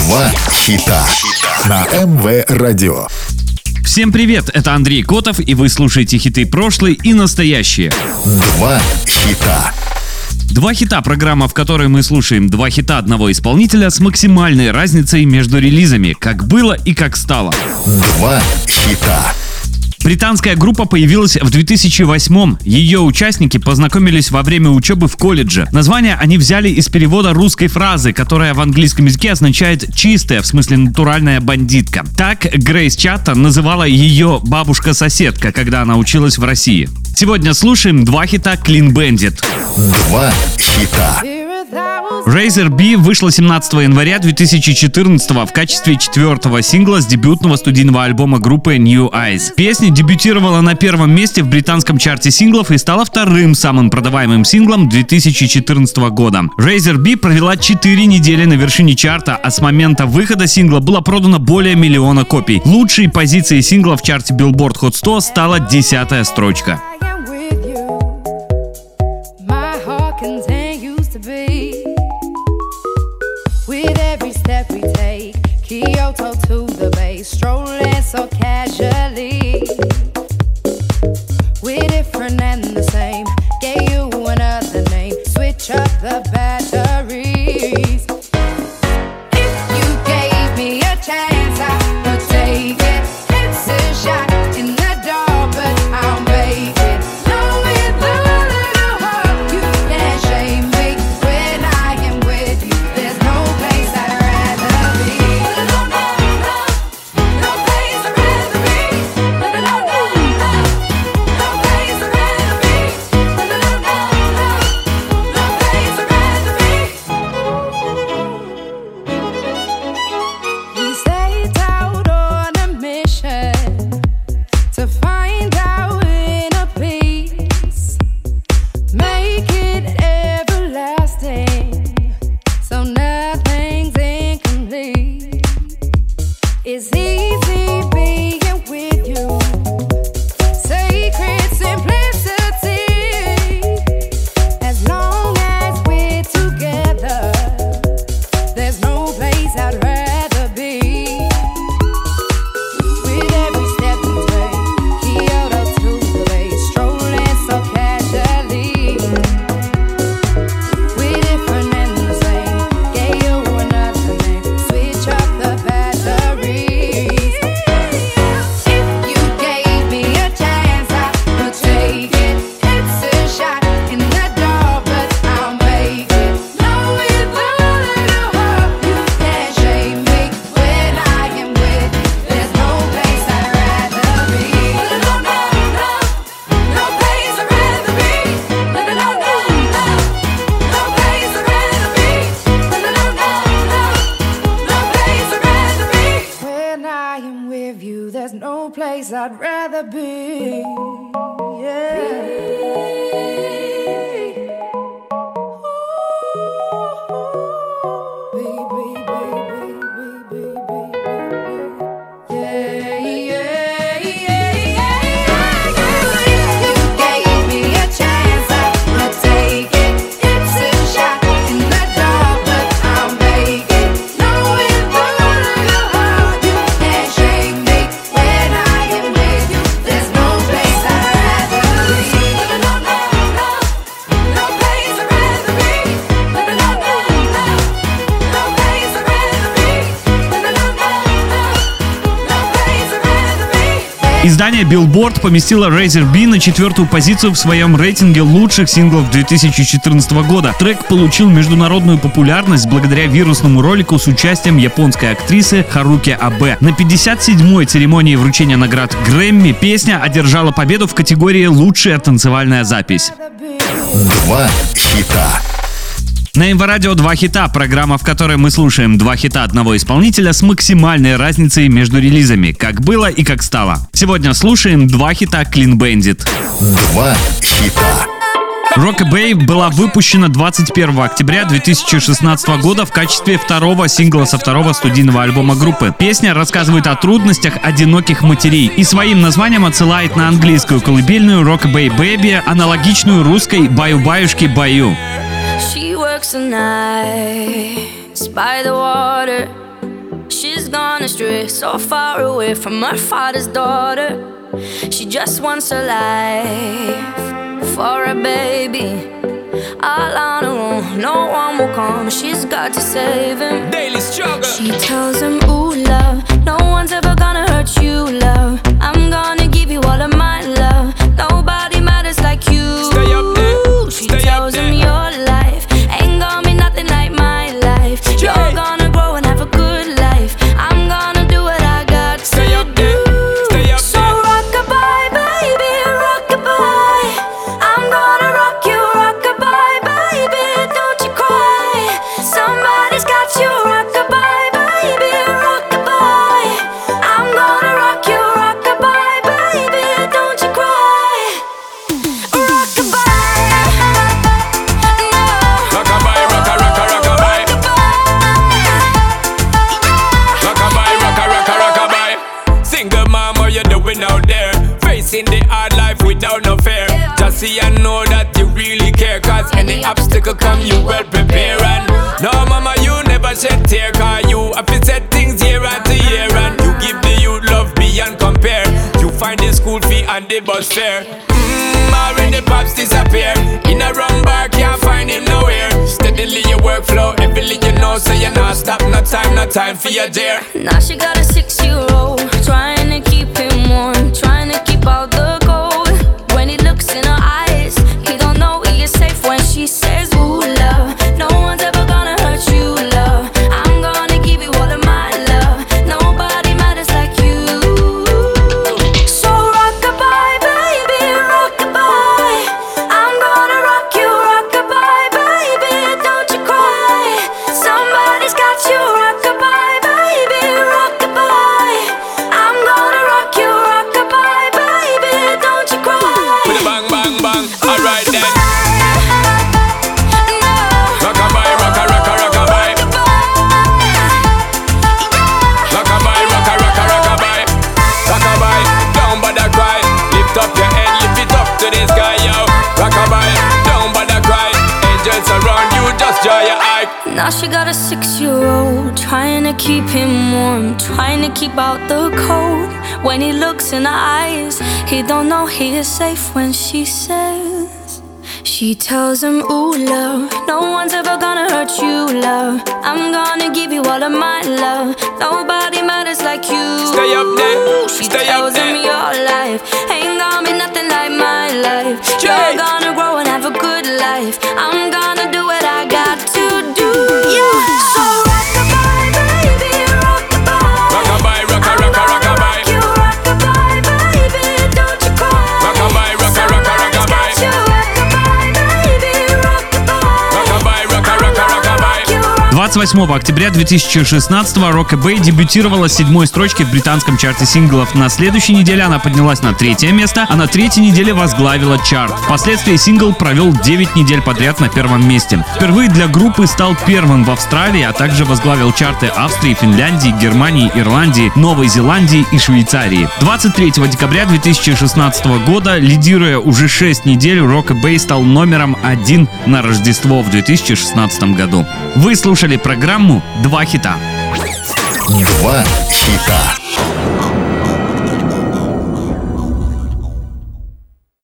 Два хита на МВ Радио. Всем привет, это Андрей Котов, и вы слушаете хиты прошлые и настоящие. Два хита. Два хита — программа, в которой мы слушаем два хита одного исполнителя с максимальной разницей между релизами, как было и как стало. Два хита. Британская группа появилась в 2008-м. Ее участники познакомились во время учебы в колледже. Название они взяли из перевода русской фразы, которая в английском языке означает «чистая», в смысле натуральная бандитка. Так Грейс Чаттон называла ее бабушка-соседка, когда она училась в России. Сегодня слушаем два хита Clean Bandit. Два хита. Razor B вышла 17 января 2014 в качестве 4-го сингла с дебютного студийного альбома группы New Eyes. Песня дебютировала на первом месте в британском чарте синглов и стала вторым самым продаваемым синглом 2014 года. Razor B провела 4 недели на вершине чарта, а с момента выхода сингла было продано более 1 миллиона копий. Лучшей позицией сингла в чарте Billboard Hot 100 стала 10-я строчка. With every step we take, Kyoto to the bay, strolling so casually. We're different and the same, gave you another name, switch up the batteries. If you gave me a chance, I would take it. It's a shot in the dark, but I'll make it. Know with a little heart, you can't shame me when I am with you. There's no place I'd rather be. No place I'd rather be. No place I'd rather be. No place I'd rather be. We set out on a mission to find our inner peace, make it everlasting, so nothing's incomplete. It's easy being with you, sacred simplicity. As long as we're together, there's no place I'd rather be. With every step we take, Kyoto to the bay, strolling so casually. We're different and the same, gave you another name, switch up the batteries. If you gave me a chance, I would take it. It's a shot in the dark, but I'll make it. Know with a little heart, you can't shame me when I am with you. There's no place I'd rather be. No place I'd rather be. No place I'd rather be. No place I'd rather be. When I am with you, there's no place I'd rather be. Издание Billboard поместило Razor B на 4-ю позицию в своем рейтинге лучших синглов 2014 года. Трек получил международную популярность благодаря вирусному ролику с участием японской актрисы Харуки Абе. На 57-й церемонии вручения наград Грэмми песня одержала победу в категории «Лучшая танцевальная запись». Два хита. На МВ Радио два хита — программа, в которой мы слушаем два хита одного исполнителя с максимальной разницей между релизами, как было и как стало. Сегодня слушаем два хита Clean Bandit. Два хита. Rockabye была выпущена 21 октября 2016 года в качестве второго сингла со второго студийного альбома группы. Песня рассказывает о трудностях одиноких матерей и своим названием отсылает на английскую колыбельную Rockabye Baby, аналогичную русской «Баю-баюшки баю». She works the nights by the water, She's gone astray, so far away from her father's daughter. She just wants a life for a baby. All on her own, no one will come. She's got to save him. Daily struggle. She tells him, ooh, love, no one's ever gonna hurt you, love. I'm gonna give you all of my love. Nobody matters like you. Stay up there. She Stay tells up him there. your life ain't gonna be nothing like my life. You're gonna grow and have a good life. I'm gonna do what I got to Stay up there. do. Stay up So there. rock-a-bye, baby, rock-a-bye. I'm gonna rock you, rock-a-bye, baby, don't you cry. Somebody's got you, rock-a-bye, baby, rock-a-bye. I'm gonna rock you, rock-a-bye, baby, don't you cry. Rock-a-bye, no. Rock-a-bye, rock-a-bye. Rock-a-bye, rock-a-bye. Single mom, what you doing out there? Facing the hard life without no fear. Just see and know that you really care. Cause any obstacle come, you well prepare. And no mama, you never shed tear. Cause you have to set things year after year. And you give the youth love beyond compare. You find the school fee and the bus fare. Already pops disappear. In a wrong bar, can't find him nowhere. Steadily your workflow, everything you know, so you're not stop, no time for your dear. Now she got a 6-year-old, trying to keep him warm, trying to keep out the cold. When he looks in her eyes, he don't know he is safe when she says, ooh, love, no one's ever gonna hurt you, love. I'm gonna give you all of my love. Nobody matters like you. So rock-a-bye, baby, rock-a-bye. I'm gonna rock you, rock-a-bye, baby, don't you cry. Somebody's got you, rock-a-bye, baby, rock-a-bye. I'm gonna rock you, rock-a-bye, baby, don't you cry. With a bang, bang, bang, alright then. No. Rock-a-bye, rock-a-bye. Rock-a-bye, rock-a-bye. Rock-a-bye, don't bother cry. Lift up your head, lift it up to the sky, yo. Rock-a-bye, don't bother cry. Angels around you, just joy your eye. Now she got a 6-year-old, trying to keep him warm, trying to keep out the cold. When he looks in her eyes, he don't know he is safe when she says. She tells him, ooh, love, no one's ever gonna hurt you, love. I'm gonna give you all of my love. Nobody matters like you. Stay up there, She stay up tells him there. your life ain't gonna be nothing like my life. You're gonna grow and have a good life. I'm gonna do what I got to do. So rock-a-bye, baby, rock-a-bye. Rock-a-bye, rock-a-bye. You rock-a-bye, baby, don't you cry. Rock-a-bye, Somebody's got you, rock-a-bye, baby, rock-a-bye. Rock-a-bye, rock-a-bye. You rock- 28 октября 2016-го Rockabye дебютировала с 7-й строчки в британском чарте синглов. На следующей неделе она поднялась на 3-е место, а на 3-й неделе возглавила чарт. Впоследствии сингл провел 9 недель подряд на 1-м месте. Впервые для группы стал первым в Австралии, а также возглавил чарты Австрии, Финляндии, Германии, Ирландии, Новой Зеландии и Швейцарии. 23 декабря 2016 года, лидируя уже 6 недель, Rockabye стал номером 1 на Рождество в 2016 году. Вы слушали программу «Два хита». Два хита.